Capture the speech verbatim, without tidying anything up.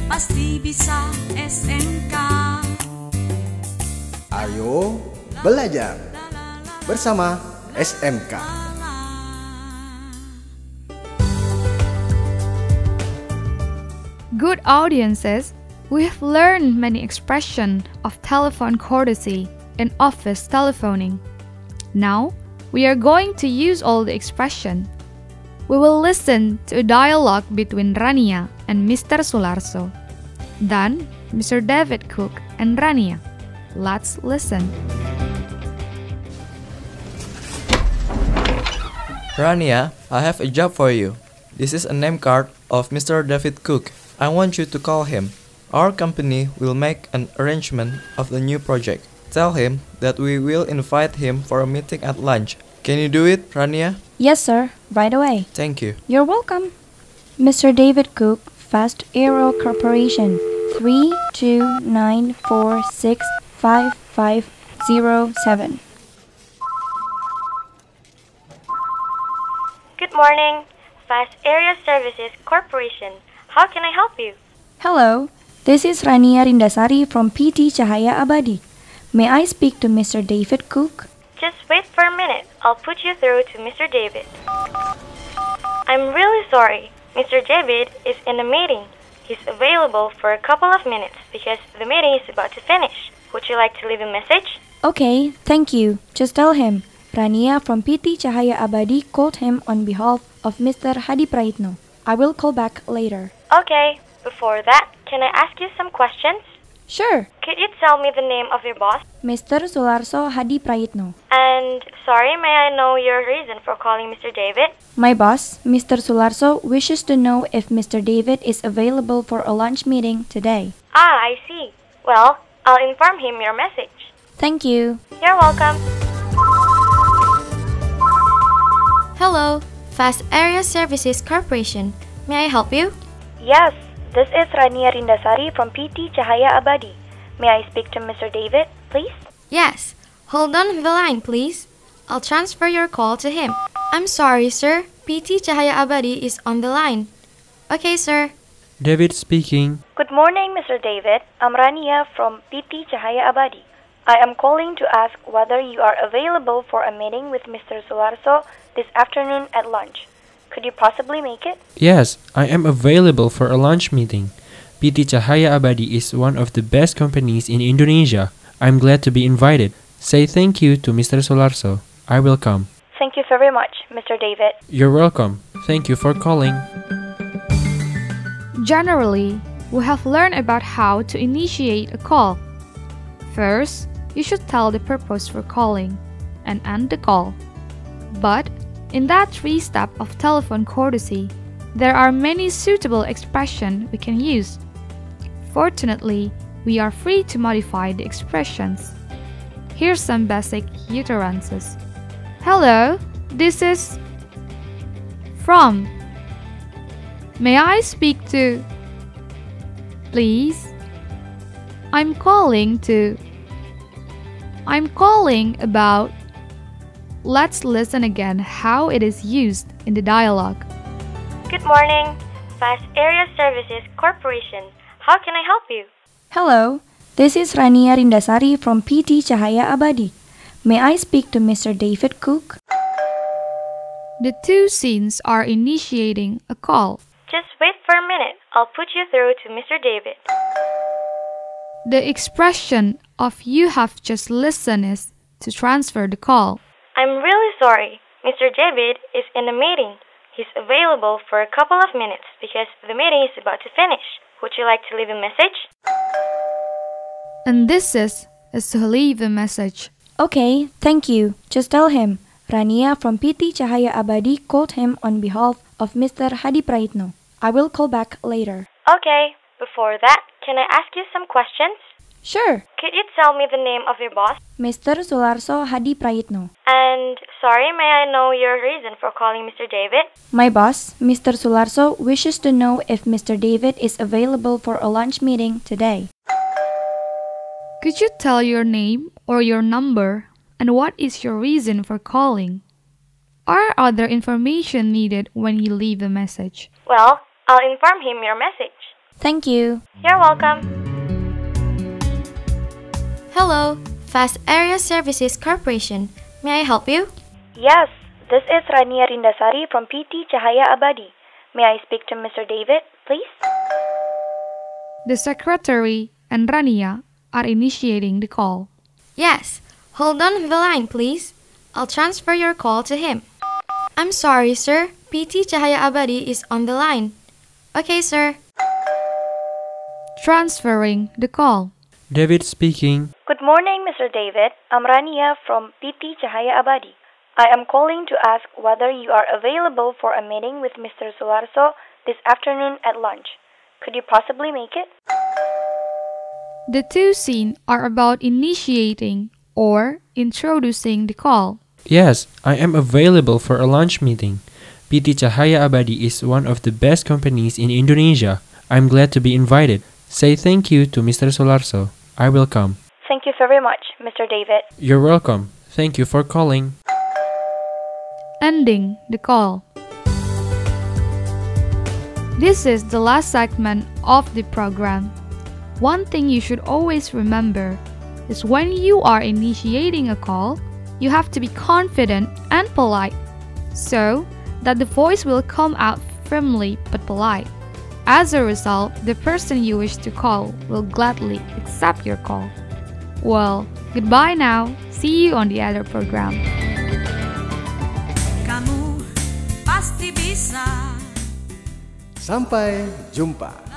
pasti bisa S M K. Ayo belajar bersama S M K. Good audiences, we have learned many expressions of telephone courtesy in office telephoning. Now, we are going to use all the expression. We will listen to a dialogue between Rania and Mister Sularso. Then, Mister David Cook and Rania. Let's listen. Rania, I have a job for you. This is a name card of Mister David Cook. I want you to call him. Our company will make an arrangement of the new project. Tell him that we will invite him for a meeting at lunch. Can you do it, Rania? Yes, sir. Right away. Thank you. You're welcome. Mister David Cook, Fast Aero Corporation, three two nine four six five five zero seven. Good morning, Fast Area Services Corporation. How can I help you? Hello, this is Rania Rindasari from P T Cahaya Abadi. May I speak to Mister David Cook? Just wait for a minute. I'll put you through to Mister David. I'm really sorry. Mister David is in a meeting. He's available for a couple of minutes because the meeting is about to finish. Would you like to leave a message? Okay, thank you. Just tell him. Rania from P T Cahaya Abadi called him on behalf of Mister Hadi Praitno. I will call back later. Okay. Before that, can I ask you some questions? Sure. Could you tell me the name of your boss? Mister Sularso Hadi Praitno. And, sorry, may I know your reason for calling Mister David? My boss, Mister Sularso, wishes to know if Mister David is available for a lunch meeting today. Ah, I see. Well, I'll inform him your message. Thank you. You're welcome. Hello, Fast Area Services Corporation. May I help you? Yes, this is Rania Rindasari from P T Cahaya Abadi. May I speak to Mister David, please? Yes. Hold on the line, please. I'll transfer your call to him. I'm sorry, sir. P T Cahaya Abadi is on the line. Okay, sir. David speaking. Good morning, Mister David. I'm Rania from P T Cahaya Abadi. I am calling to ask whether you are available for a meeting with Mister Sularso this afternoon at lunch. Could you possibly make it? Yes, I am available for a lunch meeting. P T Cahaya Abadi is one of the best companies in Indonesia. I'm glad to be invited. Say thank you to Mister Sularso. I will come. Thank you very much, Mister David. You're welcome. Thank you for calling. Generally, we have learned about how to initiate a call. First, you should tell the purpose for calling and end the call. But in that three-step of telephone courtesy, there are many suitable expressions we can use. Fortunately, we are free to modify the expressions. Here's some basic utterances. Hello, this is from. May I speak to? Please. I'm calling to. I'm calling about. Let's listen again how it is used in the dialogue. Good morning, Fast Area Services Corporation. How can I help you? Hello, this is Rania Rindasari from P T Cahaya Abadi. May I speak to Mister David Cook? The two scenes are initiating a call. Just wait for a minute. I'll put you through to Mister David. The expression of you have just listened is to transfer the call. I'm really sorry. Mister David is in a meeting. He's available for a couple of minutes because the meeting is about to finish. Would you like to leave a message? And this is, is to leave a message. Okay, thank you. Just tell him. Rania from P T Cahaya Abadi called him on behalf of Mister Hadi Praitno. I will call back later. Okay. Before that, can I ask you some questions? Sure. Could you tell me the name of your boss? Mister Sularso Hadi Praitno. And, sorry, may I know your reason for calling Mister David? My boss, Mister Sularso, wishes to know if Mister David is available for a lunch meeting today. Could you tell your name or your number and what is your reason for calling? Are other information needed when you leave a message? Well, I'll inform him your message. Thank you. You're welcome. Hello, Fast Area Services Corporation. May I help you? Yes, this is Rania Rindasari from P T Cahaya Abadi. May I speak to Mister David, please? The secretary and Rania are initiating the call. Yes. Hold on the line, please. I'll transfer your call to him. I'm sorry, sir. P T Cahaya Abadi is on the line. Okay, sir. Transferring the call. David speaking. Good morning, Mister David. I'm Rania from P T Cahaya Abadi. I am calling to ask whether you are available for a meeting with Mister Solarso this afternoon at lunch. Could you possibly make it? The two scenes are about initiating or introducing the call. Yes, I am available for a lunch meeting. P T Cahaya Abadi is one of the best companies in Indonesia. I'm glad to be invited. Say thank you to Mister Solarso. I will come. Thank you very much, Mister David. You're welcome. Thank you for calling. Ending the call. This is the last segment of the program. One thing you should always remember is when you are initiating a call, you have to be confident and polite so that the voice will come out firmly but polite. As a result, the person you wish to call will gladly accept your call. Well, goodbye now. See you on the other program. Kamu pasti bisa. Sampai jumpa.